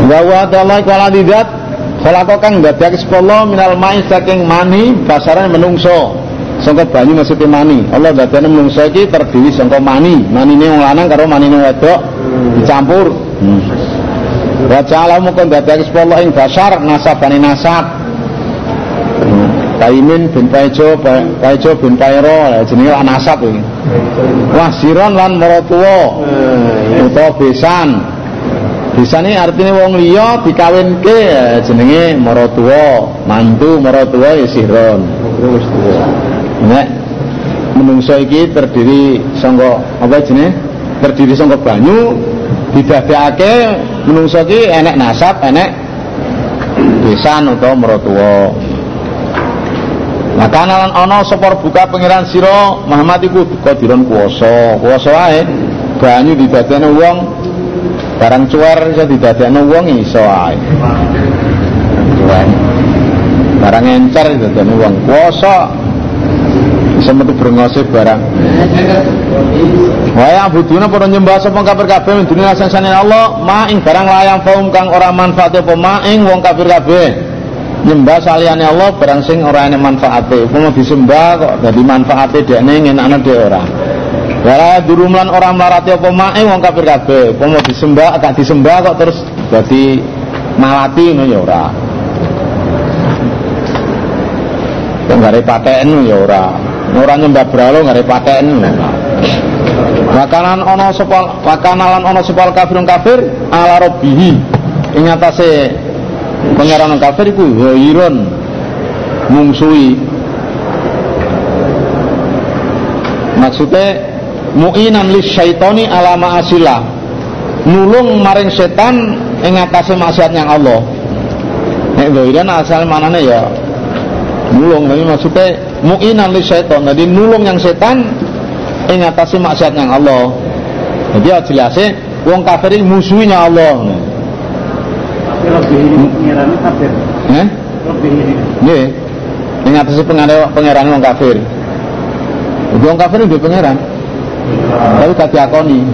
Wa wa ta'ala kuala didat khalaqa kang dadake sepolo minal ma'i saking mani basaran menungso sangka banyu maksudnya mani. Allah dadane menungso iki terdiri sangka mani, manine wong lanang karo manine wedok dicampur. Wa ta'ala mukon dadake sepolo ing basar nasabane nasab. Taimin bin Paijo bin Pairo jenenge nasab iki. Wah siron lan maratuwa utawa besan. Bisane artine wong liya dikawinke jenenge maratuwa, mantu maratuwa ya siron. Nek menungso iki terdiri saka apa jenenge? Terdiri saka banyu didadekake menungso iki enek nasab, enek besan utawa maratuwa. Maka lan ana sapa buka pangeran sira Muhammad iku kadiron kuwasa wae banyu didadekne wong barang cuwer iso didadekne wong iso ae barang encer didadekne wong kuwasa iso metu brengose barang wae abuduna para nyembah sapa kafir kabeh dunya sansane Allah ma ing barang layang faum kang ora manfaat apa ma ing wong kafir kabeh nyembah saliyane Allah barang sing ora enek manfaate. Upama disembah kok dadi manfaate dekne ngenakno dhek ora. Wala durumlan ora mlarati apa mae wong kafir kabeh. Upama disembah gak disembah kok terus dadi malati ngono ya ora. Kok gare paten ya ora. Ora nyembah bralo gare paten. Makanan ana sapa kafirun kafir ala rabbihi ing atase pengeran kafir iku ghairun mungsuhi maksudnya mu'inan lis syaitani ala ma'asilah nulung maring setan ing atase maksiatnya Allah. Nek ghairan asal manane ya nulung, tapi maksudnya mu'inan lis syaitan jadi nulung yang setan ing atase maksiatnya Allah. Jadi jelasnya wong kafir iki musuhinya Allah. Lebih pengerane kafir. Lebih ini. Nggih. Ing atase pengerane wong kafir. Wong kafir itu pengeran. Tapi gak diakoni.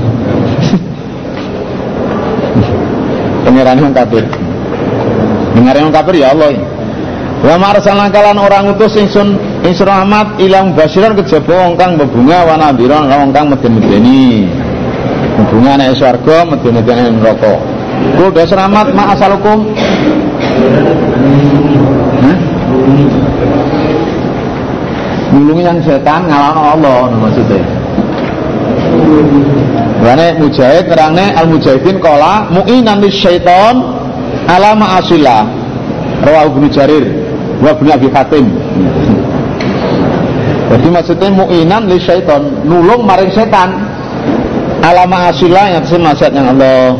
Pengerane wong kafir. Pengerane wong kafir ya Allah. Wa marsalna kalan orang utus ingsun Ahmad ilang basiran kejaba wong kang bebunga wa nadhiran wong kang meden-medeni. Bebunga nek swarga, meden-medeni neraka. Kudu selamat ma asalukum. Nulungi yang setan ngalahno Allah maksudnya. Wane mujahid terangane al mujahidin qala mu'inan lisyaiton ala ma'asillah. Rawahu Ibnu Jarir wa Ibnu Abi Hatim. Jadi maksudnya mu'inan lisyaiton nulung maring setan ala ma'asillah yang maksiat yang Allah.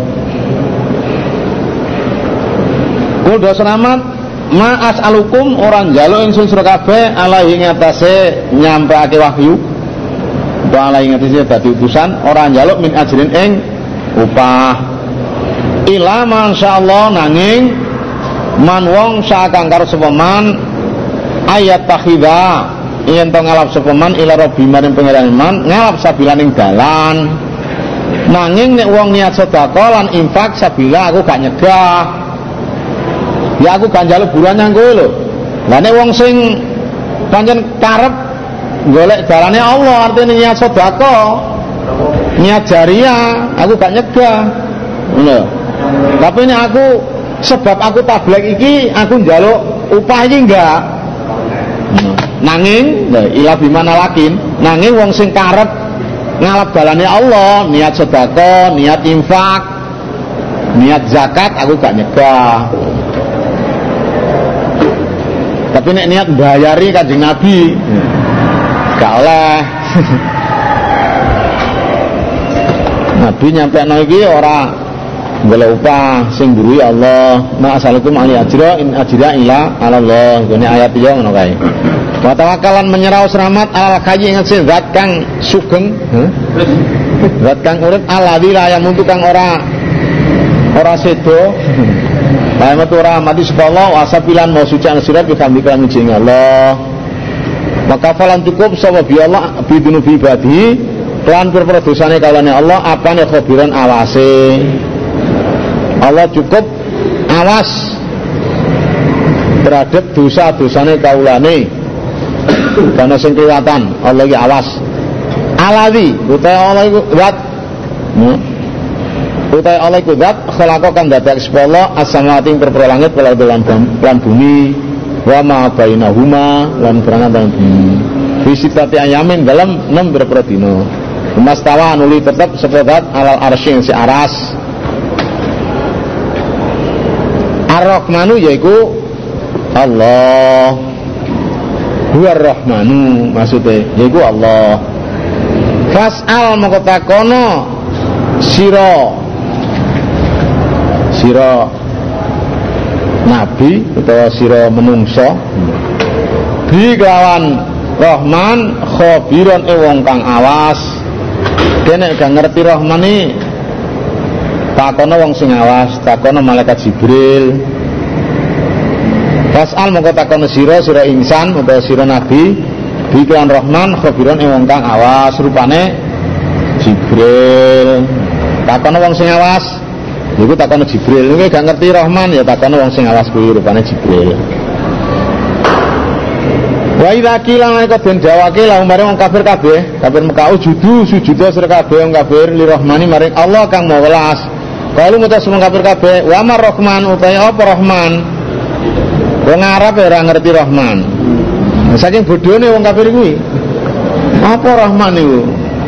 Kudu selamat ma'as alukum orang njaluk ingsun sira kabeh alaihi ngatasé nyampake wahyu. Wa alaihi ngatasé dadi utusan ora njaluk min ajrin ing upah. Ila masyaallah nanging man wong sakang karo sapa man ayat takhidha yen to ngalap sapa man ila rabbi maring pangeran man ngalap sabilaning dalan. Nanging nek wong niat sedekah lan infak sabila aku gak nyegah. Ya aku gak njaluk buruan kowe lho. Lah nek wong sing pancen karep golek dalane Allah artine niat sedekah, niat jariah, aku gak nyegah. Lho. Tapi nek aku sebab aku tabligh iki aku njaluk upah iki enggak. Nanging ila bimana lakin, nanging wong sing karep ngalap dalane Allah, niat sedekah, niat infak, niat zakat aku gak nyegah. Tapi nek niat bayari Kanjeng Nabi gak oleh. Nabi nyampe iki ora golek upah sing mburi Allah. Ma asalukum ali ajra in ajra ila Allah. Ini ayat yo ngono kae. Wa tawakkalan menyerah selamat alal hayy ing zat kang sugeng, zat kang urip alladzi la yamutu kang ora sedo. Bae metu ora mati sapa Allah wasabilan mau suci ang sirat bihamdika muji Allah. Maka falan cukup sapa bi Allah bidunubi ibadi lan perkara dosane kalane Allah apane khabiran awase. Allah cukup awas terhadap dosa-dosane kaulane. Karena sing kelihatan Allah iki awas. Alladzi utai Allah iku zat utai Allah iku zat khalaqa kang dadak sepolo as-samawati perpro langit wal ardi lan bumi wa ma bainahuma lan berangkat bumi. Fisitati ayamin dalam 6 berapa dino. Mastawa nuli tetap sepedat alal arsy si aras. Ar-Rahmanu yaiku Allah. Huwa Ar-Rahmanu maksudnya yaiku Allah. Fas'al moko takono sira nabi utawa sira menungso bi kelawan Rahman khabiron wong kang awas. Kene gak ngerti Rahman iki takono wong sing awas, takono malaikat Jibril. Fas'al moko takono sira insan utawa sira nabi bikiran Rahman khabiron wong kang awas rupane Jibril. Takono wong sing awas niku takono Jibril. Niku gak ngerti Rahman ya takono wong sing awas kuwi rupane Jibril. Wa idza qila laka den jawake la umare wong kafir kabeh, kafir Mekah sujud sira kabeh wong kafir li Rahmani maring Allah kang Maha Welas. Kalu mutus wong kafir kabeh, wa mar Rahman utahe apa Rahman? Wong Arab ora ngerti Rahman. Saking bodhone wong kafir kuwi. Apa Rahman niku?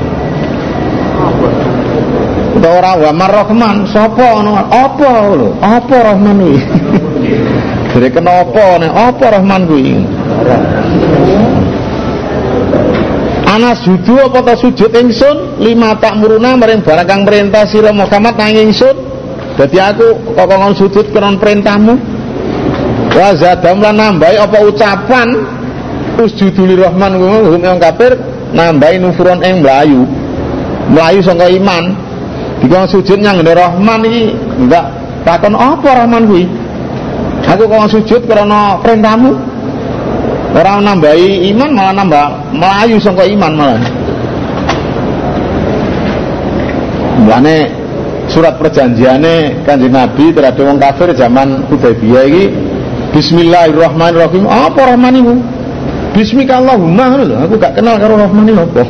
Ora wa mar Rahman, sapa ana apa lho? Apa Rahman kuwi? Jare kenapa nek apa Rahman kuwi? Ana suju apa ta sujud ingsun lima tak muruna maring barang kang perintah sira Muhammad nang ingsun. Dadi aku kok ngomong sujud kron perintahmu. Wa zadam lan nambahi apa ucapan usjudul Rahman kuwi wong kafir nambahi nufuron ing mlayu saka iman. Dikon sujud nyang Rahman iki enggak takon apa Rahman kuwi. Aku kok sujud karena perintahmu. Orang nambahi iman malah nambah melayu sangka iman malah. Mulane surat perjanjiane Kanjeng Nabi terhadap wong kafir zaman Hudaybiyah iki Bismillahirrahmanirrahim. Apa Rahman iku? Bismikallahumma lho, aku gak kenal karo Rahman iki apa.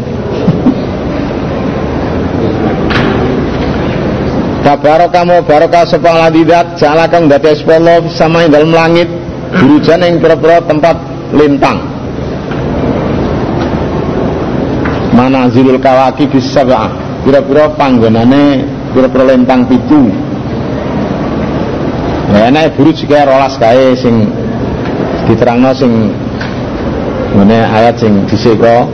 Tabarakamu baraka sapa ladidat jala kang dadi Allah sama ing dalem langit burujan ing pira-pira tempat lintang. Manazilul kawaki bisab'ah. Pira-pira panggonane pira-pira lintang 7. Ya nek buruj iki 12 kae sing diterangno sing ngene ayat sing dhisik kok.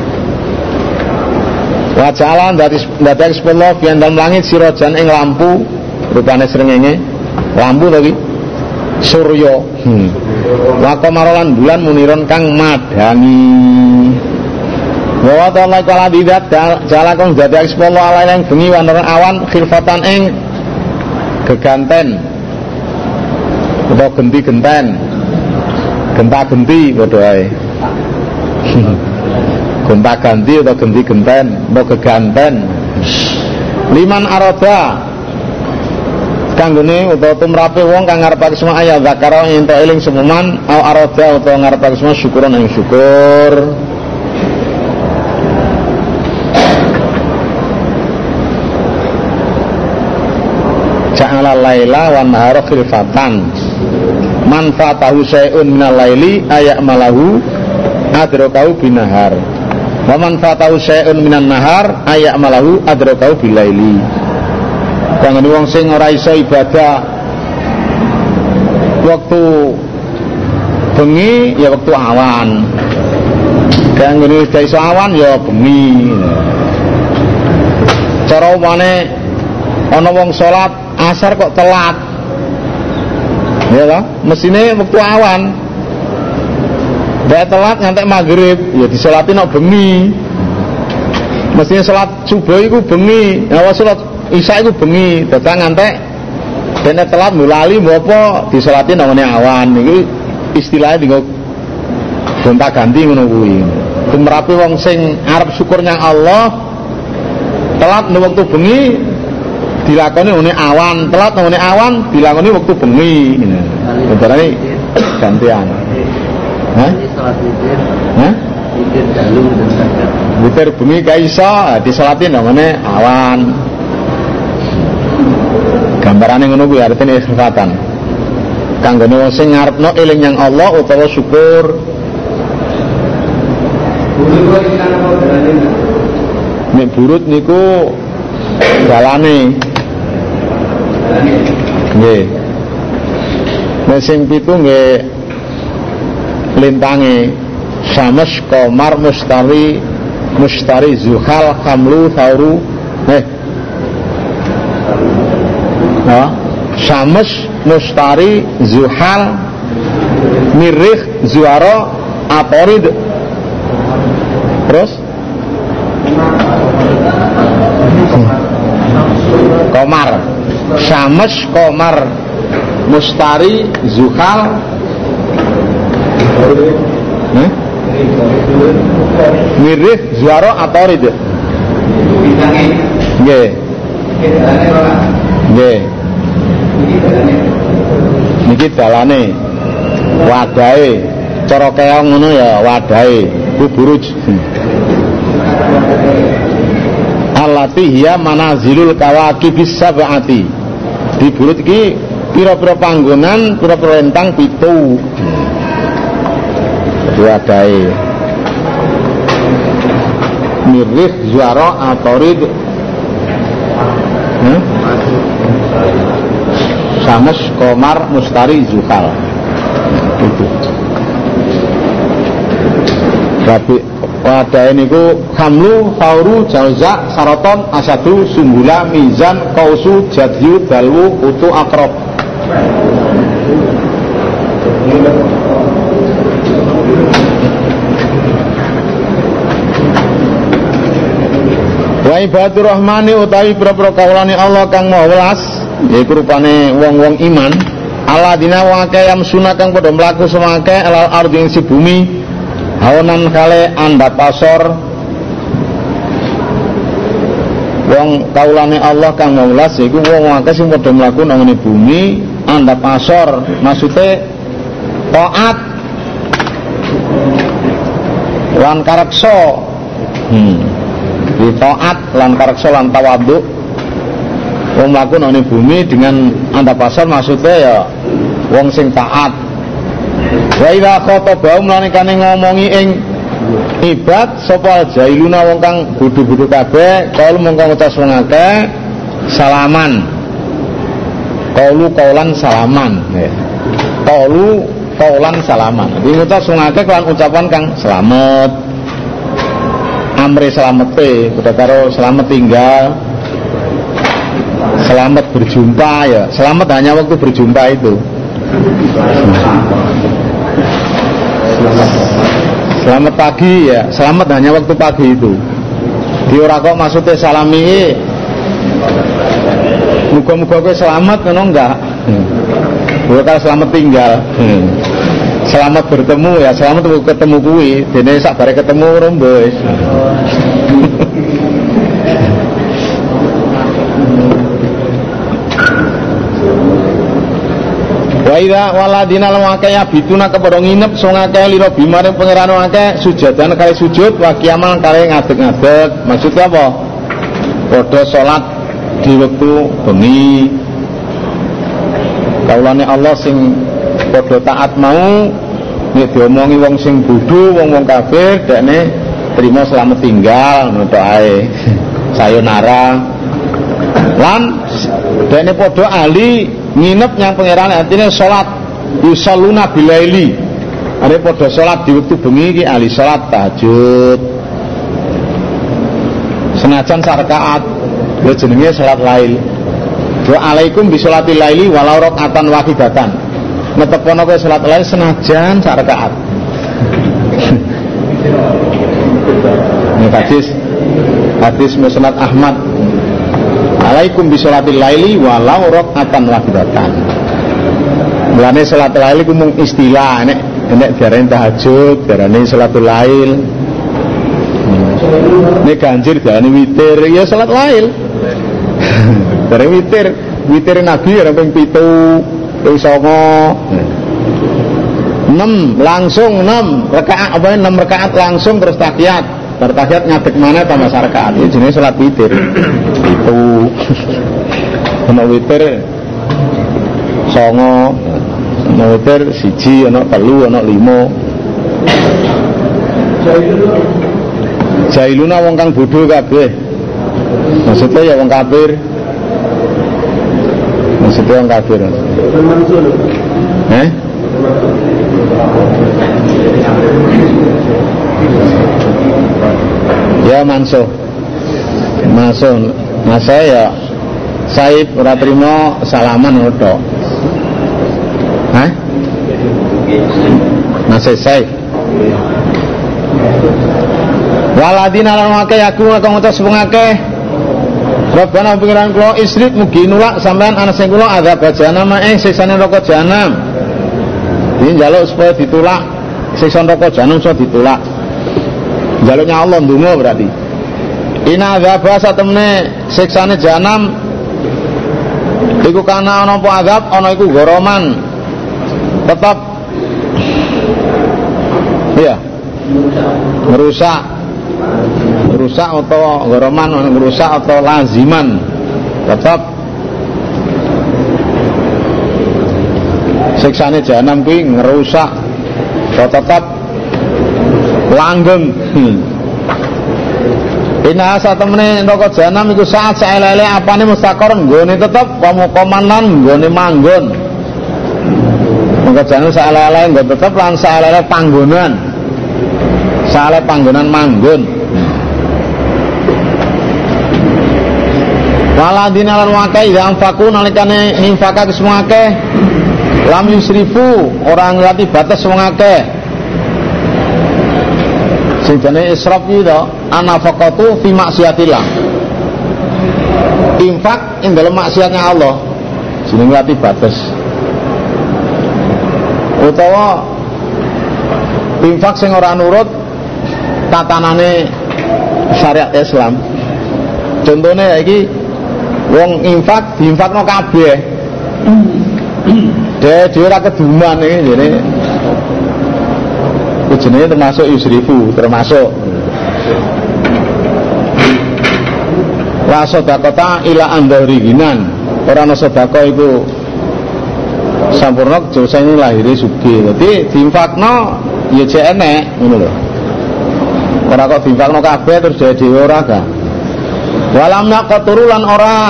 Wa jalan dari sepuluh fian dalam langit sirojan ing lampu rupane srengenge lampu lagi surya wako marolan bulan muniron kang madangi wa ta'ala kala didat jala kang dadi sepuluh ala yang bengi wanoran awan khilfatan ing geganten atau genti-genten genta-genti padha ae gonta ganti atau genti genten mau keganten liman aroda kanggone utawa tumrape wong kang ngarepake semua ayat zakara ento eling semuman au aroda utawa ngarepake semua syukuran ing syukur. Ja'ala laila wan nahara khilfatan man fatahu syai'un minal laili aya'malahu adrokau binahar wa man fatahu syai'un minan nahar aya'malahu adrokau bilaili. Kanggo wong sing ora iso ibadah waktu bengi ya waktu awan, kanggo ora iso awan ya bengi. Cara umane ana wong salat asar kok telat ya lah mesine waktu awan. Dia telat ngantek maghrib, ya disolati nak bengi. Mestinya salat subuh itu bengi, ya salat isya itu bengi. Datang ngantek, dia telat mulali, apa disolati namanya awan. Ini istilahnya dengan gonta ganti ngono kuwi. Tumrape wong sing arep syukur nang Allah, telat ning waktu bengi, dilakoni ngene awan, telat ngene awan dilakoni wektu bengi. Bentarane gantian. Hah? Hah? Witir bengi ka iso disalatin ngene awan. Gambarane ngono kuwi artine istighfatan. Kanggone wong sing ngarepno eling yang Allah utawa syukur. Nek burut niku dalane. Nggih. Nek sing pitu nggih lintange Syams, Qamar, Mustari, Zuhal, Khamlu, Thauru. Syams, Mustari, Zuhal, Mirrikh, Zuhara, Atarid. Terus Qamar, Syams, Qamar, Mustari, Zuhal, Mirrikh, Zuhara, Atarid. Nggih. Nggih. Niki dalane wadahe cara keong ngono ya wadahe buruj allati hiya manazilul kawakibis sab'ati. Di burut iki pira-pira panggonan pira-pira lintang 7 wadahe Mirrikh, Zuhara, Atarid, Syams, Qamar, Mustari, Zuhal. Itu. Tapi wadahe niku Khamlu, Thauru, Jauza, Saraton, Asadu, Sumbula, Mizan, Qausu, Jadyu, Dalwu, Utu, Akrab. Wa ibadur rahmani utawi pira-pira kawulane Allah kang maha welas yaiku rupane wong-wong iman alladzina wa kayam sunah kang padha mlaku semake alal ardi ing bumi haonan kale andap asor. Wong kawulane Allah kang maha welas yaiku wong akeh sing padha mlaku nang bumi andap asor, maksude taat lan kareksa. Di taat lan kareksa lan tawadhu wong mlaku nang bumi dengan andap asor maksudnya ya wong sing taat. Wa idza khatabahum lan kane ngomongi ing ibad sapa jailuna wong kang bodho-bodho kabeh kaul mongko ngucap wong akeh salaman. Qaulu qaulan salaman. Qaulu qaulan salaman. Iki ngucap wong akeh kan ucapan kang selamat. Amri selamete udah karo selamat tinggal, selamat berjumpa ya, selamat hanya waktu berjumpa itu. Selamat pagi ya, selamat hanya waktu pagi itu. Di ora kok maksudnya salami muga-muga kowe selamat ngono enggak. Bukan selamat tinggal. Selamat bertemu ya, selamat ketemu kuwi. Dene sak bare ketemu rombos. Wa idza waladina lam akaya bituna kepada nginep sing akeh lira bimare pangeran akeh sujadan kali sujud wa kiamal kali ngadeg-ngadeg. Maksudnya apa? Padha salat di wektu bengi. Kaulane Allah sing padha taat mau nek diomongi wong sing bodho, wong-wong kafir dekne trimo selamat tinggal ngono ae. Sayonara. Lan dekne padha ahli nginep nyang pangeran artine salat yusalluna bilaili. Are padha salat di wektu bengi iki ahli salat tahajud. Senajan sarakaat lho jenenge salat lail. Wa alaikum bi sholatil laili walau rakaatan wahidatan. Netepono kowe salat lail senajan sak rakaat. Ini hadis Musnad Ahmad. Alaikum bi sholatil laili walau rakaatan wahidatan. Mulane salat lail iku mung istilah nek diarani tahajud, diarani salatul lail. Nek ganjil diarani witir, ya salat lail. Dari witir Nabi ora ping 7, ping 9. 6 langsung 6 rakaat apa 6 rakaat langsung terus tahiyat. Bar tahiyat ngadeg maneh tambah rakaat. Iki jenenge salat witir. Itu. Ana witir 9, ana witir 1, ana 3, ana 5. Jailuna wong kang bodho kabeh. Maksudnya ya wong kafir. Maksudnya wong kafir. Ya mansuh. Masa ya Saib ora trimo salaman ngono tok. Masih Saib. Waladina lan akeh aku kang ngucap sepengake Rabbana pengiran kula isrik mugi nulak sampean ana sing kula azab jahanam siksane neraka jahanam. Iki njaluk supaya ditulak siksa neraka jahanam iso ditulak. Njaluknya Allah ndonga berarti. Ina azab satemene siksane jahanam iku kana ana apa azab ana iku goroman. Tetap iya. Merusak atau goroman, merusak atau laziman, tetap siksane jahanam kuwi ngerusak atau tetap langgeng. Ina satemene neraka jahanam iku saat saelele apane mustaqor nggone tetep pamukoman lan nggone manggon. Neraka jahanam saelele nggone tetep lan saelele panggonan. Saelele panggonan manggon. Waladina lan wakai ya anfaku nalikane infakake semua akeh lam yusrifu orang ngerti batas semua akeh sing jane israf iki to anafaqatu fi maksiatillah infak ing dalem maksiatnya Allah jenenge ngerti batas utawa infak sing ora nurut tatanane syariat Islam. Contohnya iki wong infak diinfakno kabeh. Dhewe ora keduman iki jene. Jenenge termasuk yusrifu, termasuk la sedekah ila andharihinan. Ora ana sedekah iku sampurna josane lahire sugih. Dadi diinfakno ya jek enek ngono lho. Ora kok diinfakno kabeh terus dhewe ora ga. Walam naqturulan ora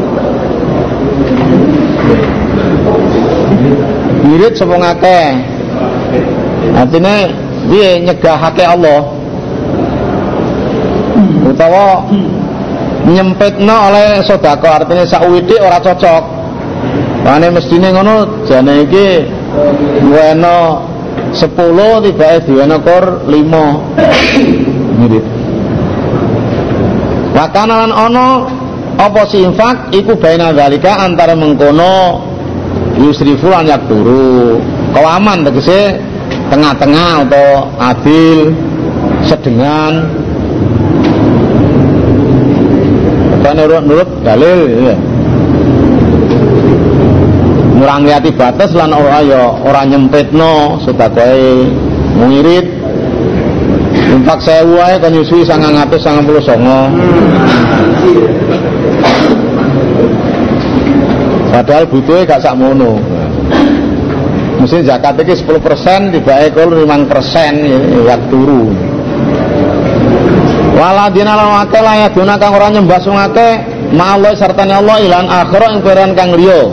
wirid sapa ngakeh. Artine piye nyegahake Allah utawa nyempitno oleh sedekah artine sak widik ora cocok. Mane mestine ngono jane iki duweno 10 tibake diweno kur 5 wirid. Wakana lan ono apa si infak iku baina zalika antara mengkono yusrifu lan yakturu kawaman tegese tengah-tengah atau adil sedengan nurut dalil ya. Ngurangi ati batas lan ora ya ora nyempitno sedekahe ngirit. Infak 1000 ae kan nyusui 999. Padahal butuhe gak sakmono. Mesti zakat iki 10% dibake kul 5% ya turu. Waladina lan akeh layaduna kang ora nyembah sing akeh ma'allah sartane Allah ilan akhira ing peran kang liya.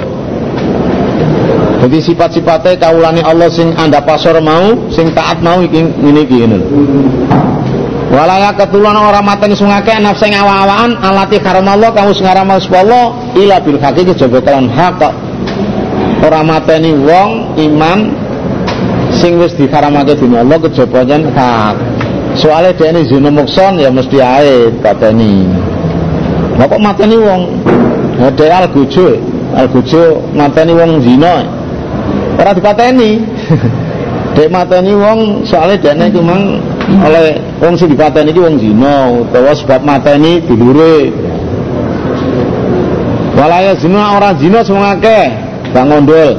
Jadi sifat-sifatnya kaulane Allah sing anda pasor mau, sing taat mau iki ngene iki ngono. Walaya ketulan orang mateni sungake nafsu sing awa-awaan alati karamallah kamu sing ngaramal Allah ila bil haqi kejaba kelan hak. Ora mateni wong iman sing wis dikaramake dening Allah kejaba yen hak. Soale dene zina mukson ya mesti ae pateni. Lah kok mateni wong? Model algojo mateni wong zina. Ora dipateni. Dek mateni wong soalnya dene iku mang oleh wong sing dipateni iki wong zina utawa sebab mateni dulure. Walaya zina ora zina sing akeh, gak ngondol.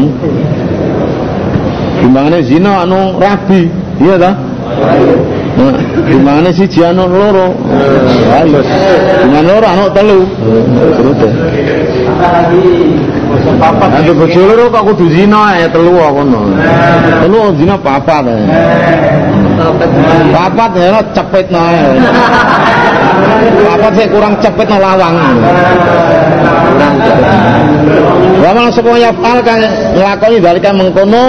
Gimana zina anu rabi, iya ta? Gimana siji anu loro? Ayo. Gimana loro anu telu? Nanti bojo loro kok kudu zina ya telu kok ngono. Telu zina papat. Papat ya cepetno ae. Papat sik kurang cepetno lawang. Wa man supaya fal kang nglakoni dalika mengkono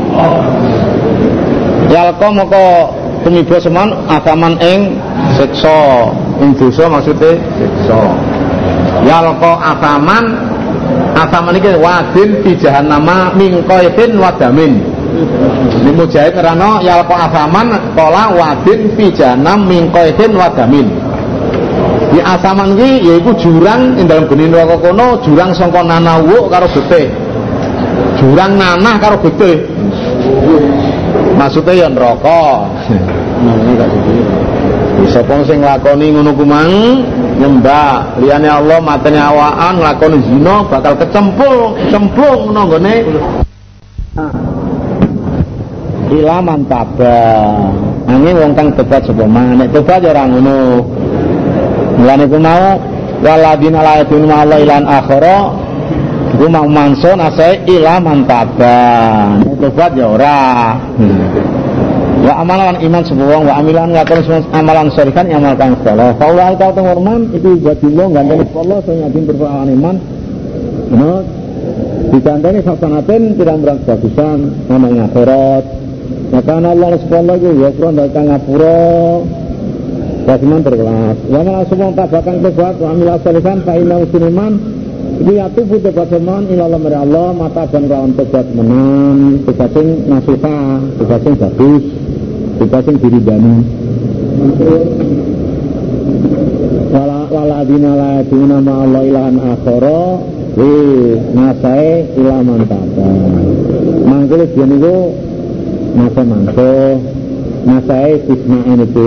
yalqa moko tumiba seman agaman ing siksa ing dosa maksude siksa yalqa agaman iki wadin fi jahannama min qaidin wadamin di mujahid ngerano yalqa agaman qala wadin fi jahannam min qaidin wadamin di asaman iki yaiku jurang ing dalem geni neraka kono jurang sangka nanawuk karo getih jurang nanah karo getih maksudnya ya neraka. Sapa sing nglakoni ngono kumang nyembah liyane Allah matene awaan nglakoni zina bakal cemplung nang gone ilaman taba. Angin wong kang tobat sapa man nek tobat ya ora ngono. Mulane ku mau waladina la yadun Allah ilan akhara ku mau mansun asai ilaman taba. Nek tobat ya ora. Wa amalan iman sebuang wa amilan ngakon amalan syarikan amal kang salah. Faulai ka teng warman itu jadillah gandeng Allah sing ngajin berpawan iman. Nah, digandeng sasanaten pirang-pirang bagusan ana akhirat. Maka Allah subhanahu wa ta'ala kang ngapura bagaimana berkelas. Wa malah semua tabakan tobat wa amil syarikan fa inna musliman iki atubu tobat seman ila Allah mata dan lawan tobat menan tobat sing nasuha tobat sing bagus tobat sing diridani wala dina la dina ma Allah ilahan akhara nasae ilaman tata mangkele yen iku mangko nasae isma'in itu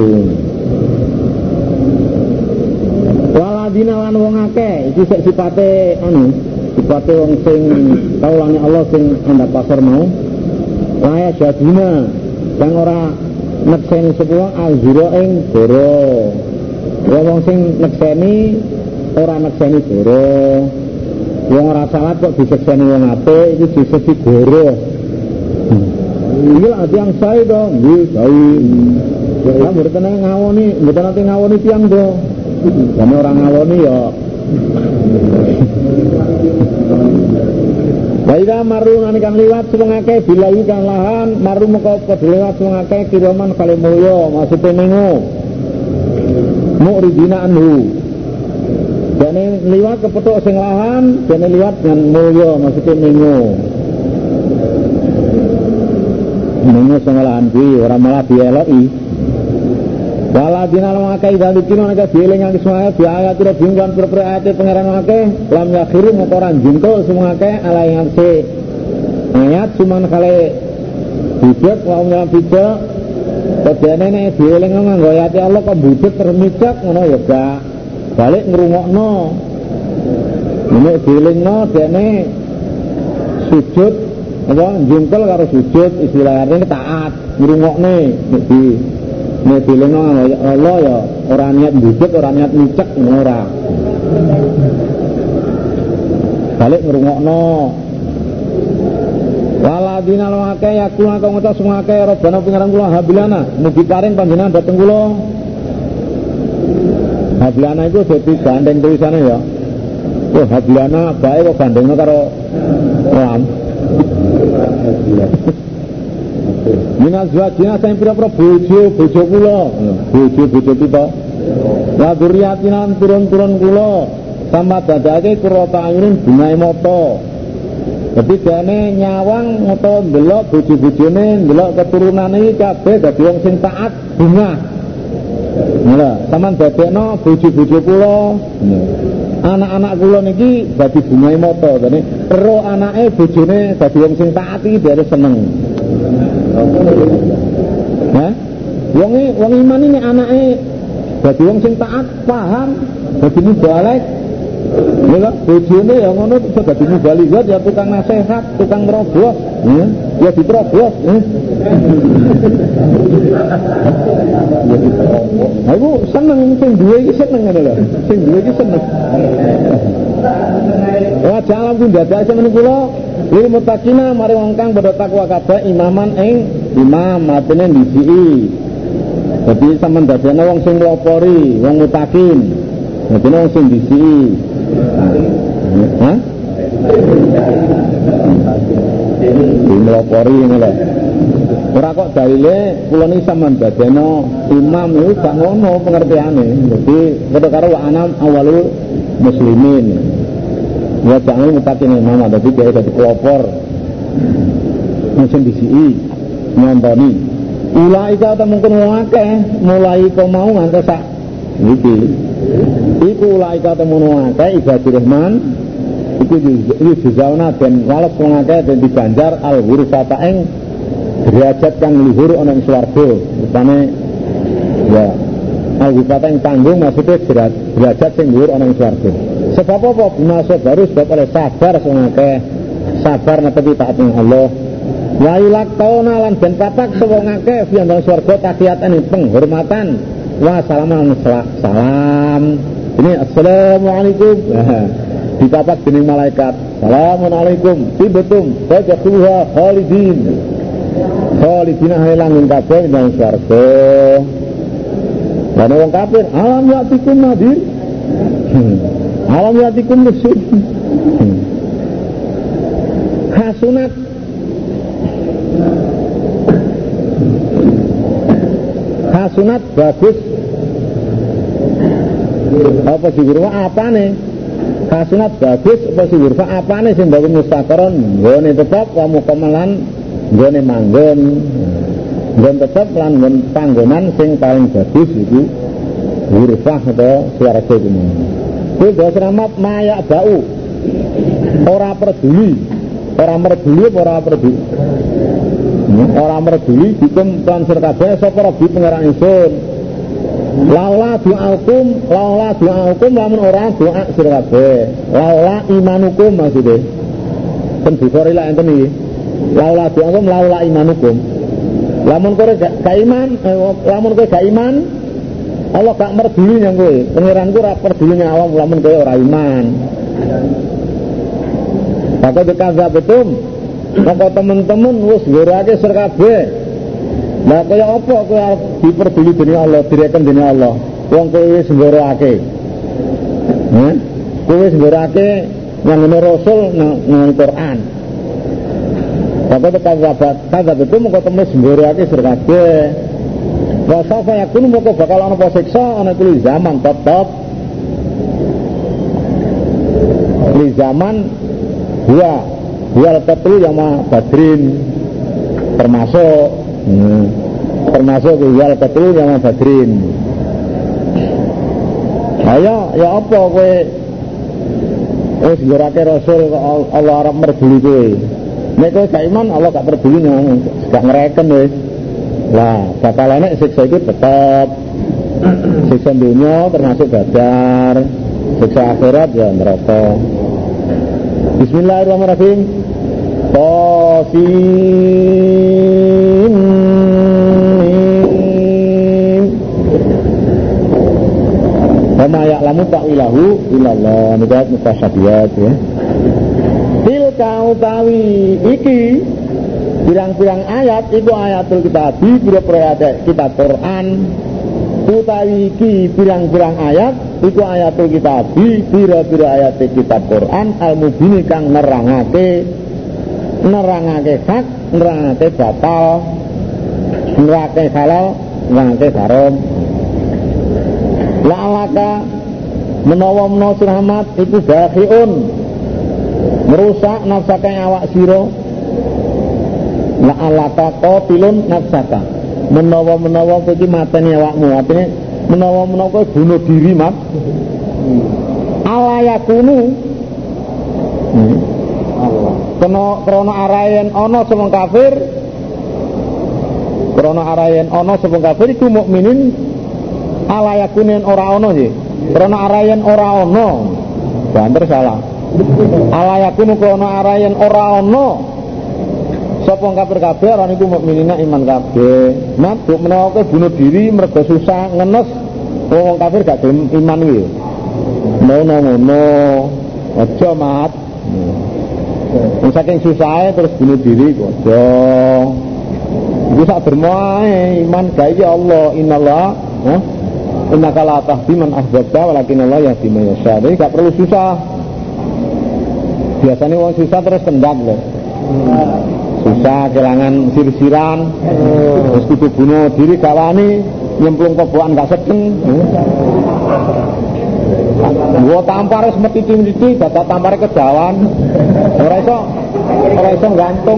waladina lan wong akeh iki sifate sifate wong sing kaulane Allah sing andhap pasar mau laya jadina kang ora nekseni sepuh azura ing doro wong sing nekseni ora nekseni doro wong ora salat kok disekseni wong apik iki disesi doro iki lha tiyang sae to nggih sae ya mboten ngawoni mboten ate ngawoni tiyang to dene ora ngawoni ya Baiklah maru nanikan liwat semua akeh bilahi kan lahan maru moko padha liwat semua akeh kiraman kali mulya maksude mengo muridina anhu dene liwat kepethuk sing lahan dene liwat dengan mulya maksude mengo sing lahan kuwi ora malah dieloki waladina lam akai dalikina nek dieling semua ayat ira bingkan ayat pangeran akeh lam yakhiru motoran jingko semua akeh ala yang ayat cuman kali bijak wa dalam bijak padane nek dieling nganggo ayat Allah kok budhet termicak ngono ya gak balik ngrungokno nek dielingno dene sujud apa jingkol karo sujud istilahane taat ngrungokne nek di nek dileno Allah ya ora niat budhet ora niat micek ora balik ngrungokno waladina lawake yakuna kang ngucap semua akeh robana pengaran kula habilana mugi paring panjenengan dhateng kula habilana iku dadi gandeng tulisane ya oh habilana bae kok gandengno karo ram Minas wajina saya pira-pira bojo kula bojo kita la duriatinan turun-turun kula sama dadake kurota angin bungae mata dadi dene nyawang utawa ndelok bojo-bojone ndelok keturunane iki kabeh dadi wong sing taat bunga lha sampean dadekno bojo-bojo kula anak-anak kula niki dadi bungae mata dene ero anake bojone dadi wong sing taat iki dhewe seneng wong iman ini anake dadi wong sing taat paham dadi mubalek Lha bojone ya ngono iso dadi mubalighah ya tukang nasihat, tukang ngrobos, ya diterobos. Aku seneng sing duwe iki seneng ngono lho. Sing duwe iki seneng. Wa jalam pindhadake menika kula lil muttaqina mari wong kang padha takwa kabeh imaman ing imam matene ndisi. Dadi sampean dadekne wong sing nglopori, wong mutakin. Dadi wong sing ndisi. Hah? Nglopori ngene lho. Ora kok dalile kula niki sampean dadekno imam iku gak ngono pengertiane. Dadi padha karo wa anam awalul muslimin. Ya jangan mutakin imam dadi dhek dadi pelopor. Mesti disi nyontoni. Ulaika ta mungkin wong akeh mulai kok mau nganti sak iki. Iku ulaika ta mun akeh ibadur rahman iku dijauna den wales wong akeh den diganjar al ghurfata ing derajat kang luhur ana ing swarga. Rupane ya al ghurfata ing tanggung maksudnya derajat sing luhur ana ing swarga. Sebab apa? Binaso baru sebab oleh sabar wong akeh sabar netepi taat ing Allah. Wa ilaqtauna lan ben patak wong akeh ing dalem swarga tahiyatan penghormatan wa salaman salam. Ini assalamualaikum. Dipapak dening malaikat. Assalamualaikum. Tibetum fajatuha khalidin. Khalidina halang kabeh ing dalem swarga. Lan wong kafir alam yatikum nadir. Alam yatikum rusul. Hasunat hasunat bagus apa sih wirwa apane hasunat bagus apa sih wirwa apane sing bagus mustaqaron nggone tetep kamu kemelan nggone manggon nggone tetep lan nggone panggonan sing paling bagus iku wirwa atau swarga kuwi kuwi dasramat mayak bau ora peduli ora peduli hukum transfer kabeh sapa Rabbi pangeran ingsun. Laula du'aukum lamun ora doa sira kabeh. Laula imanukum maksude. Ten Bukhari lak enten iki. Laula du'aukum laula imanukum. Lamun kowe gak iman, Allah gak peduli nang kowe. Pangeranku ora peduli nang awam lamun kowe ora iman. Maka dikazab betul. Maka teman-teman wis ngurake sir kabeh. Lah kaya apa kowe arep diperduli dening Allah, direken dening Allah. Wong kowe wis ngurake. Kowe wis ngurake ngene Rasul nang Quran. Maka dikazab betul maka temen ngurake sir kabeh. Wa safa yakunu maka bakal ana apa siksa ana kuwi zaman tetep. Di zaman Wal qatlu yama badrin termasuk wal qatlu yama badrin. Ayo ya apa kowe wis ngurake Rasul Allah arep merduli kowe. Nek kowe gak iman Allah gak merduli gak ngereken wis. Lah bakal enek siksa iki tetep. Siksa dunya termasuk badar, siksa akhirat ya neraka. Bismillahirrahmanirrahim. Qasim Wama ya'lamu ta'wilahu illallah. Ini ayat mutasyabihat ya. Tilka utawi iki pirang-pirang ayat itu ayatul kitabi pira-pira ayat kitab Quran. Utawi iki pirang-pirang ayat iku ayatul kitabi pira-pira ayat kitab Quran al-mubini kang nerangake hak, nerangake batal, nerangake halal, nerangake haram. La'alaka menawa surahmat iku bakhiun merusak nafsaka awak sira. La'alaka qatilun nafsaka menawa iki mateni awakmu, artine menawa kowe bunuh diri mat. Ala yakunu krana arayen ana sapa kafir, iku mukminin ala yakunin ora ana nggih. Krana arayen ora ana banter salah. Ala yakunu krono arayen ora ana sapa kafir kabeh ora niku mukminina iman kabeh. Mabuk menawa kowe bunuh diri mergo susah ngenes wong kafir gak gelem iman kuwi. Ngono. Aja mat. Saking susahe terus bunuh diri kok aja. Iku sak dermoe iman gawe Allah innallaha innaka la tahdi man ahbabta walakin Allah yahdi man yasha. Jadi gak perlu susah. Biasanya orang susah terus kendap loh. Susah kelangan sir-siran. Terus kudu bunuh diri gak wani, nyemplung kobokan gak sedeng. Gua tampar wis meti-meti dadak tampare kejawan. Ora iso gantung.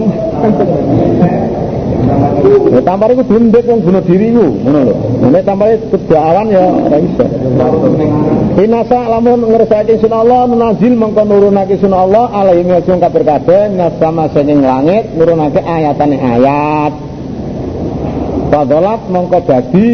Ya tampar iku dundek wong bunuh diri iku, ngono lho. Nek tampare kejawan ya ora iso. Inasa lamun ngersake sunah Allah nazil mengko nurunake sunah Allah alaihi wasallam kafir kabeh nasama saking langit nurunake ayatane ayat. Fadalat mengko dadi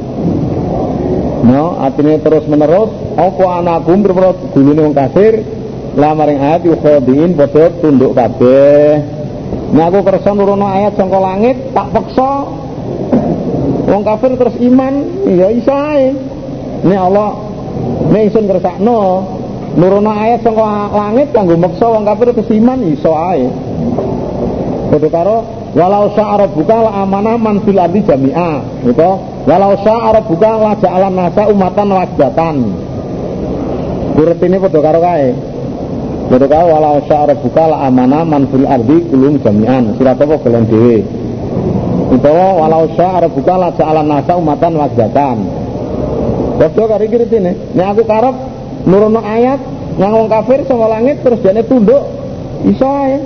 artinya terus menerus apa anakum berpura gulune wong kafir lamaring ayat yukhadiin padha tunduk kabeh. Nek aku kersa nurono ayat saka langit tak peksa wong kafir terus iman ya iso ae. Nek Allah nek isun kersakno nurono ayat saka langit kanggo meksa wong kafir terus iman iso ae. Padha karo walau sya'ara buka la amanah man fil ardi jami'a. Gitu. Walau sya'ara buka la ja'alan nasa umatan wajatan. Urut ini padha karo kae. Padha karo walau sya'ara buka la amanah man fil ardi kulum jami'an. Surat apa kalian dhewe. Utawa walau sya'ara buka la ja'alan nasa umatan wajatan. Padha karo iki ritine. Nek aku karep nurono ayat nang wong kafir saka langit terus jane tunduk iso ae.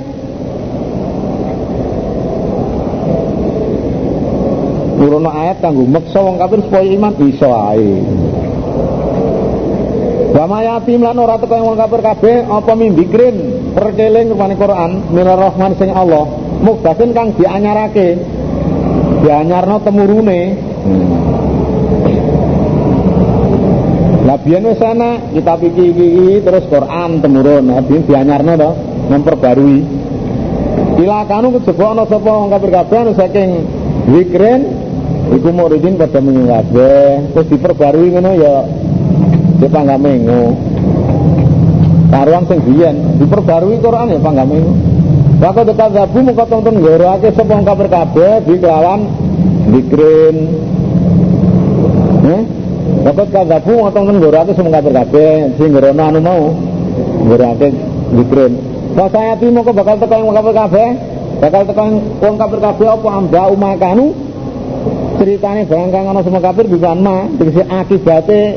Nurono ayat kanggo meksa wong kafir supaya iman iso ae. Wa mayatim lan ora teko wong kafir kabeh apa mimbikrin perkeling rupane Quran minar rahman sing Allah mukdasin kang dianyarake dianyarno temurune. Lah biyen wis ana kitab iki terus Quran temurun biyen dianyarno to memperbarui. Ila kanu kejaba ana sapa wong kafir kabeh saking zikrin iku muridin pada mengabe terus diperbarui ngono ya dipangga mengo karuan sing biyen diperbarui Quran ya pangga mengo waktu dekat zabu muka tonton ngorake sapa wong kafir kabeh dikelawan zikrin waktu dekat zabu muka tonton ngorake sapa wong kafir kabeh sing ngorono anu mau ngorake zikrin saya timo kok bakal teko wong kafir kabeh bakal teko wong kafir kabeh apa amba umakanu ceritane barang kang ana semua kafir bukan ma tegese akibate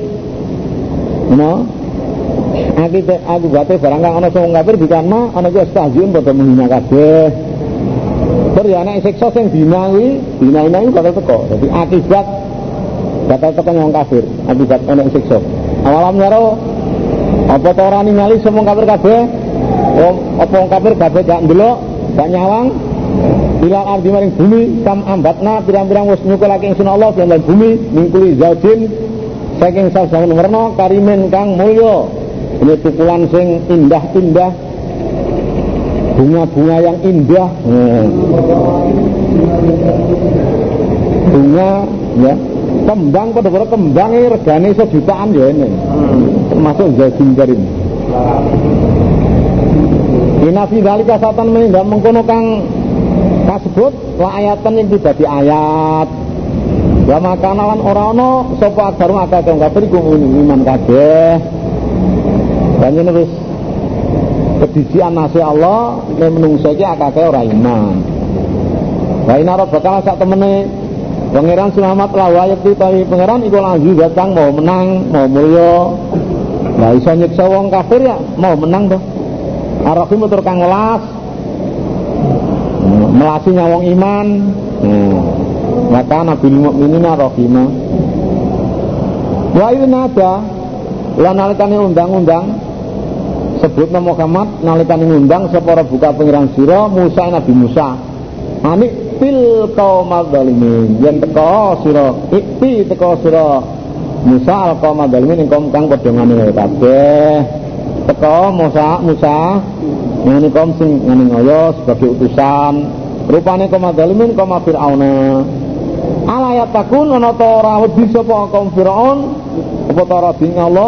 akibate barang kang ana semua kafir bukan ma ana ku stasiun padha menghina kabeh terus ya nek siksa sing dina iki bakal teko dadi akibat bakal teko wong kafir akibat ana siksa awalam nyaro apa ta ora ningali semua kafir kabeh apa wong kafir kabeh gak ndelok gak nyawang ilal ardi maring bumi kam ambatna pirang-pirang wis nyukulake ingsun Allah lan bumi mingkuli zaujin saking sasamun werna karimen kang mulya ini tukulan sing indah-indah bunga-bunga yang indah bunga ya kembang pada kembangnya regane sejutaan ya ini termasuk zaujin karim inafi dalika satan meninggal mengkono kang kasebut la ayatan yang tidak di ayat wa makanalan orano sapa agarung akal kang kafir iku iman kabeh banjur wis kedisian nasi Allah nek menungso iki akake ora iman wa ina rabbaka sak temene pangeran selamat lawa yakti tawi pangeran iku lanjut datang mau menang mau mulya la iso nyiksa wong kafir ya mau menang to arafim tur kang welas melasi nyawang iman maka nabi mu'minina rahimah wa inada lan nalikane undang-undang sebutna Muhammad nalikane ngundang sapa buka pengiran sira Musa Nabi Musa anik fil qaumaz zalimin yen teko sira ikti teko sira Musa al qaumaz zalimin ing kaum kang padha ngamil kabeh teko Musa ngene kaum sing ngene ngoyo sebagai utusan rupane kaum zalimin kaum Firaun ala yatakun ana ta ora wedi sapa kaum Firaun apa ta ora ding Allah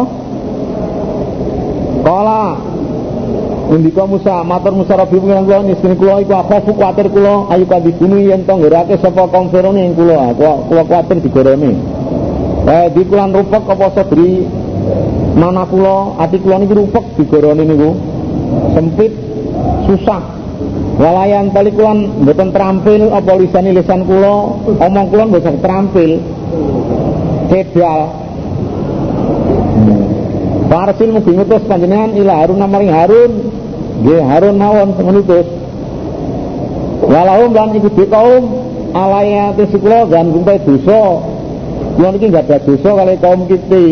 kala ngendika Musa matur Musa Rabbi pengiran kula nisine kula iku aku kuwatir kula ayu kadibunu yen to nggerake sapa kaum Firaun ing kula kuwatir digoremi di kulan rupek apa sadri mana kula ati kula niku rupek digoroni niku sempit susah walayan palikulan mboten terampil apa lisan kula omong kula mboten terampil cedal Parsil mugi ngutus panjenengan ila Harun maring Harun nggih Harun mawon ngutus walahum lan iku kaum alaya tesikula dan gumpai dosa kula niki enggak ada dosa kali kaum kita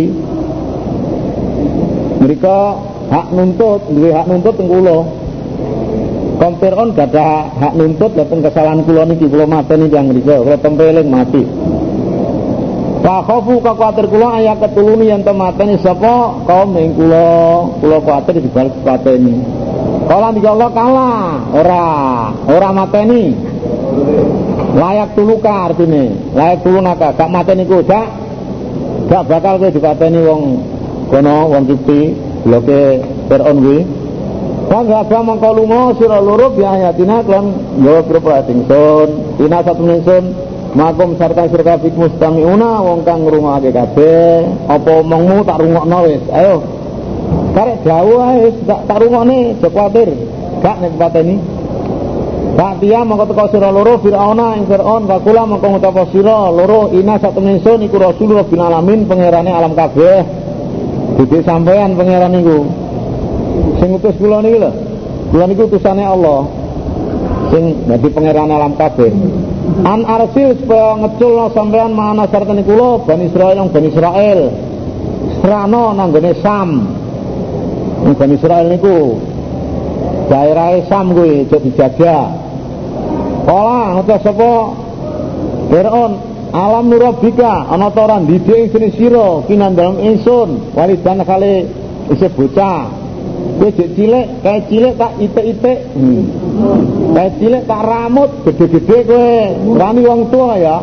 mereka hak nuntut duwe hak nuntut teng kula kaum Fir'aun gak ada hak nuntut dateng kesalahan kula niki kula mateni tiyang mriku kula tempeling mati wa khafu kuwatir kula aya ketuluni yen mateni sapa kaum ing kula kuwatir dibales pateni kala niki Allah kalah ora mateni layak tuluka artine layak tulunaka gak mateni ku gak bakal kowe dipateni wong kono wong kiti bloke Fir'aun kuwi Wangga mangko lunga sira loro biayatina lan yo propra ingsun ina satu ingsun makum sarta sira kabeh mustamiuna wong kang ngrungokake kabeh apa omongmu tak rungokno wis ayo karek dawuh ae tak rungokne aja kuwatir gak nek pateni Pak dia mangko teko sira loro Firauna ing Firaun kakula mangko ngucap sira loro ina satu ingsun iku Rasulullah bin alamin pangerane alam kabeh dite sampean pangeran niku sing utus kula niki lho. Kula niku utusane Allah. Sing dadi pangeran alam kabeh. An arsil supaya ngeculno sampean mana sartane kula Bani Israil. Serana nang gone Sam. Bani Israil niku daerah Sam kuwi aja dijaga. Kala ngutus sapa Fir'aun alam nurabika ana ta ora ndidik ing sira kinandang ingsun walidan kali isih bocah kowe jek cilik kae cilik tak itik-itik kae cilik tak ramut gede-gede kowe rani wong tua ya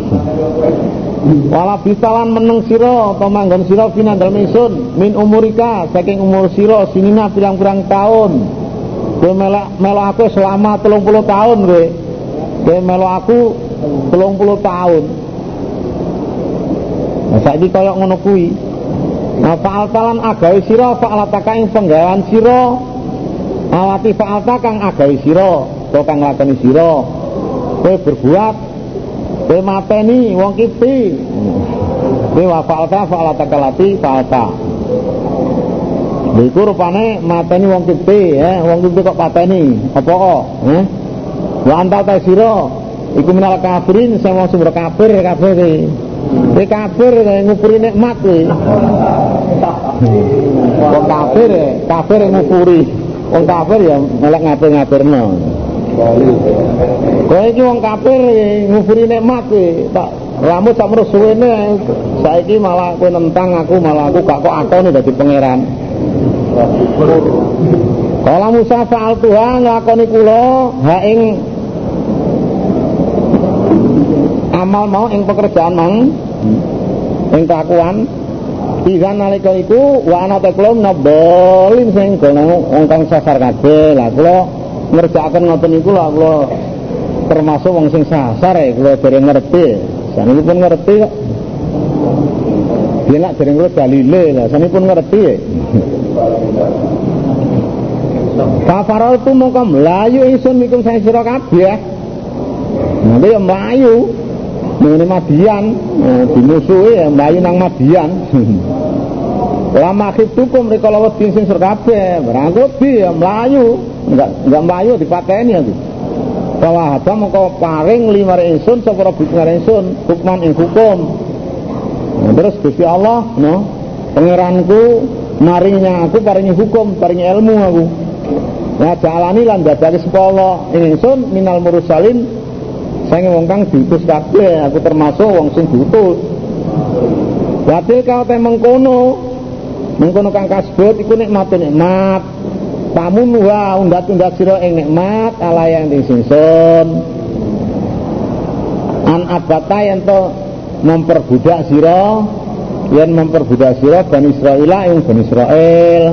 wala bisalan meneng sira apa manggon sira pinandal ingsun min umurika saking umur sira sinina pirang-pirang taun kowe melok aku selama 30 tahun kowe melok aku 30 tahun saiki kaya ngono kuwi fa'altalan agawe sira fa'alataka ing penggawean sira alati fa'alta kang agawe sira utawa kang nglakoni sira kowe berbuat kowe mateni wong kiti kowe wa fa'alataka lati fa'alta iku rupane mateni wong kiti wong kiti kok pateni apa kok wa anta ta sira iku minal kafirin sing wong sumber kafir kabeh kowe kafir ngupuri nikmat kowe wong kafir ngupuri wong kafir ya melek ngapir-ngapirno kowe iki wong kafir ngupuri nikmat kowe tak rambut sak terus suwene saiki malah kowe nentang aku malah aku gak kok akone dadi pangeran kala Musa fa'al Tuhan nglakoni kula ha ing amal mau ing pekerjaan mang ing kelakuan pisan nalika iku wa ana teklom nabolin sing gono wong kang sasar kabeh lah kula ngerjakaken ngoten niku lho kula termasuk wong sing sasar kula dereng ngerti sanipun ngerti kok yen dereng kula dalile lah sanipun ngerti Kafarol tu mongko mlayu ingsun mikum sang sira kabeh nanti ya mlayu mengenai Madian dimusuhi ya melayu nang Madian lama khitukum rikala wedi sing surkabe barang wedi ya melayu enggak melayu dipateni aku bahwa haba mengko paring limare ingsun sapa Rabbi ingsun hukman ing hukum terus Gusti Allah pangeranku maringnya aku paringi hukum paringi ilmu aku nah jalani lan dadake sapa Allah ingsun minal mursalin saya wong kang diutus kabeh, aku termasuk wong sing diutus. Wadil kau te mengkono, Mengkono kang kasebut iku nikmatun nikmat. Pamunuha undat-undat sira ing nikmat ala yang disingsun. An abata yen to memperbudak sira, yen memperbudak sira Bani Israil ing Bani Israil.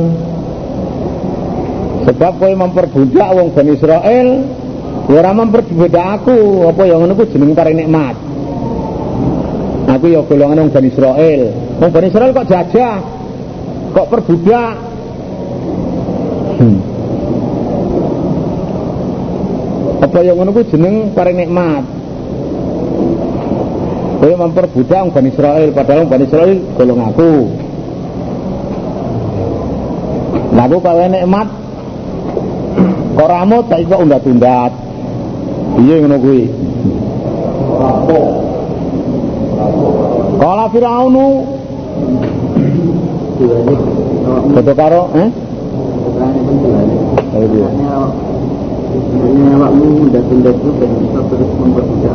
Sebab kowe memperbudak wong Bani Israil, ora memperbudak aku, apa ya ngono ku jeneng paring nikmat. Aku ya golongan wong Bani Israil. Wong Bani Israil kok jajah, kok perbudak. Apa yang ngono ku jeneng paring nikmat. Kowe memperbudak wong Bani Israil, padahal wong Bani Israil golong aku. Lah aku kawe nikmat kok ramut saiki kok undat-undat. Piye ngono kuwi? Kala Firaunu foto karo sebenarnya awakmu undat-undat itu dan bisa terus memperbudak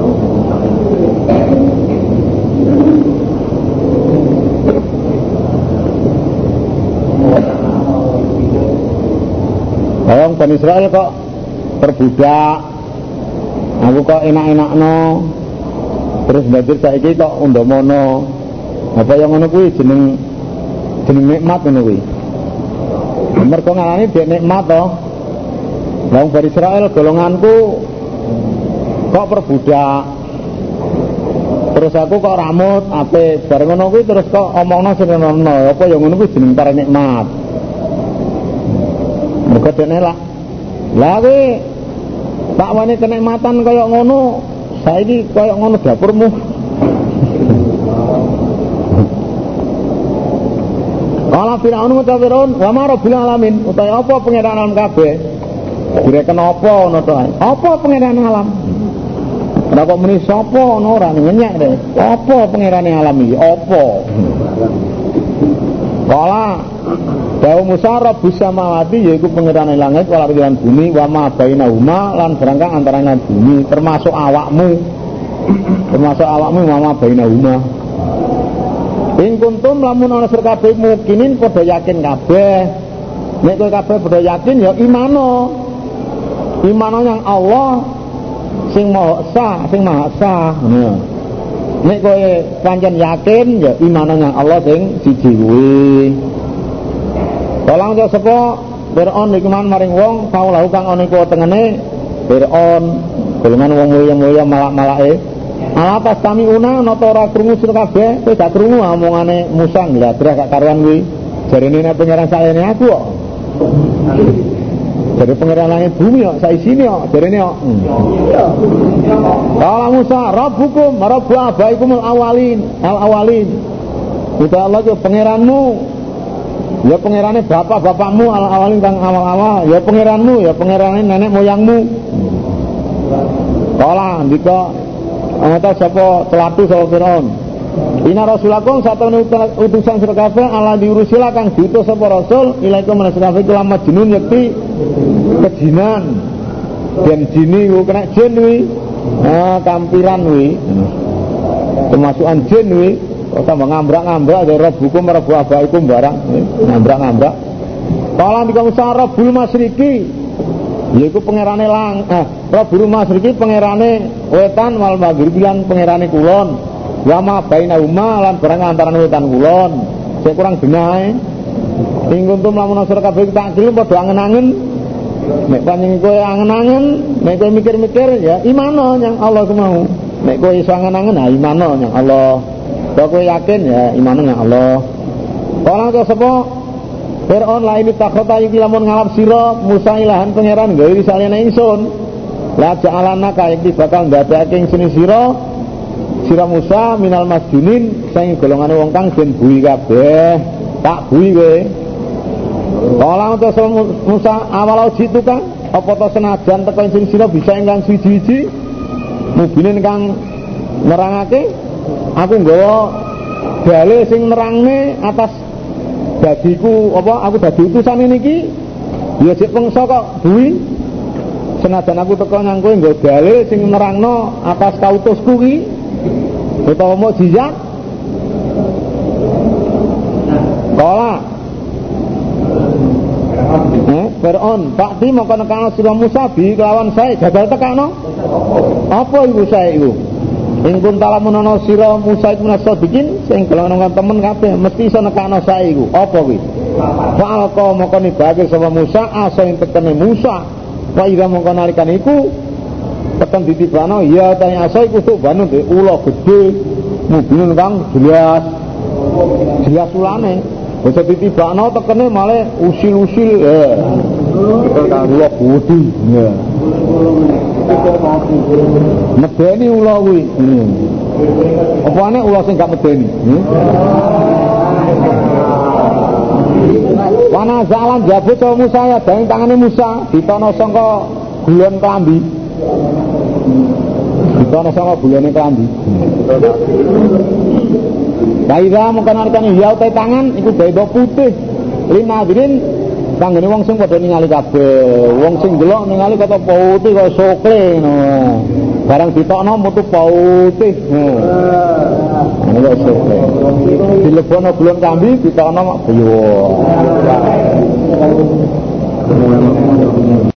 orang Bani Israil kok perbudak, aku kok enak-enakno, terus banjur saiki kok undamono. Apa yang ngono kuwi jeneng nikmat ngono kuwi. Mergo ngarani dhek nikmat to. Wong Bani Israil golonganku kok perbudak. Terus aku kok ramut apik, bareng ngono kuwi terus kok omongno senono. Apa yang ngono kuwi jeneng paring nikmat. Mergo dene lah kuwi tak wani kenikmatan kaya ngono, saiki kaya ngono dapurmu. Kala Firaun ngucap Firaun, wa ma rabbil alamin, utahe apa pangeran alam kabeh? Direken apa ngono to? Apa pangeran alam? Ora kok muni sapa ngono ora ngenyek deh. Apa pangerane alam iki? Apa? Kala Dawu Musa Rabbus samawati yaiku pangerane langit wal ardi lan bumi wa ma bainahuma lan barang kang antarané bumi termasuk awakmu wa ma bainahuma. Ing kuntum lamun ana sira kabeh mukinin padha yakin kabeh. Nek kowe kabeh padha yakin ya imano yang Allah sing maha sah. Nek kowe pancen yakin ya imano yang Allah sing siji kuwi. Tolong aja sapa Fir'aun iki man maring wong kaulahu kang ana iku tengene Fir'aun golongan wong muya-muya malak-malake ala tastamiuna nata ora krungu sira kabeh kowe gak krungu omongane Musa ngladrah gak karuan kuwi jarene nek pangeran salene aku kok jare pangeran langit bumi kok saisine kok jarene kok Kala Musa rabbukum rabbu abaikumul awalin uta Allah ku pangeranmu ya pangerane bapak-bapakmu awalin kang awal-awal ya pangeranmu ya pangerane nenek moyangmu. Kala ndika ana sapa celatu sapa Firaun. Ina rasulakum satune utusan sira kabeh ala diurusila kang diutus sapa rasul ilaikum menasabah kula majnun yakti kejinan. Den jini ku kena jin kuwi. Kampiran kuwi. Kemasukan jin kuwi. Tambah ngambrak-ngambrak dari Rabbukum Rabbu abaikum barang ngambrak-ngambrak. Kala ndika Musa Rabbul Masriki yaiku pangerane Rabbul Masriki pangerane wetan wal maghrib lan pangerane kulon. Wa ma bainahuma lan barang antarané wetan kulon. Sing kurang benahe. Ing kuntum lamun sira kabeh tak kira padha angen-angen. Nek panjenengan kowe angen-angen, nek kowe mikir-mikir ya imano yang Allah mau. Nek kowe iso angen-angen ha imano yang Allah. Kalau kowe yakin ya iman nang Allah. Kala to sapa Fir'aun la ini takhota iki lamun ngalap sira Musa ilahan pangeran gawe saliyane ingsun. La ja'alana ka iki bakal ndadekake ingsun sira Musa minal masjunin sing golongane wong kang den bui kabeh. Tak bui kowe. Kala to sapa Musa awalau jitu kang apa to senajan teko ingsun sira bisa ingkang siji-siji mubinin kang nerangake aku nggawa dalil sing nerangne atas dadiku apa aku dadi utusan niki ya sik pengso kok buwi senajan aku teko nang kowe nggawa dalil sing nerangno atas kautusku ki utawa mukjizat. Kala Fir'aun Pakti mongko nekano sira Musa bi kelawan sae jagal tekano apa iku sae iku ing kuntala menono sira Musa iku nasodikin sing kelonongan temen kabeh mesti iso nekano sae iku apa kuwi fa'alqa mongko nibake sapa Musa asa ing tekene Musa wa ira mongko nalikan iku tekan ditibano ya tanya asa iku tuh banu de ula gedhe mubin kang jelas ulane bisa ditibano tekene malah usil-usil ula budi ya medeni ula kuwi apane ula sing gak medeni wana zalan jabut sama Musa ya dari tangane Musa ditono sangka gulon klambi ditono sangka gulone klambi Baira mungkin artinya ya utai tangan itu beda putih linadirin tanggane wong sing padha ningali kabeh wong sing delok ningali kata putih kaya sokle no barang ditokno mutu putih ngono lho sokle dilebono gulon kambi ditokno mak biyo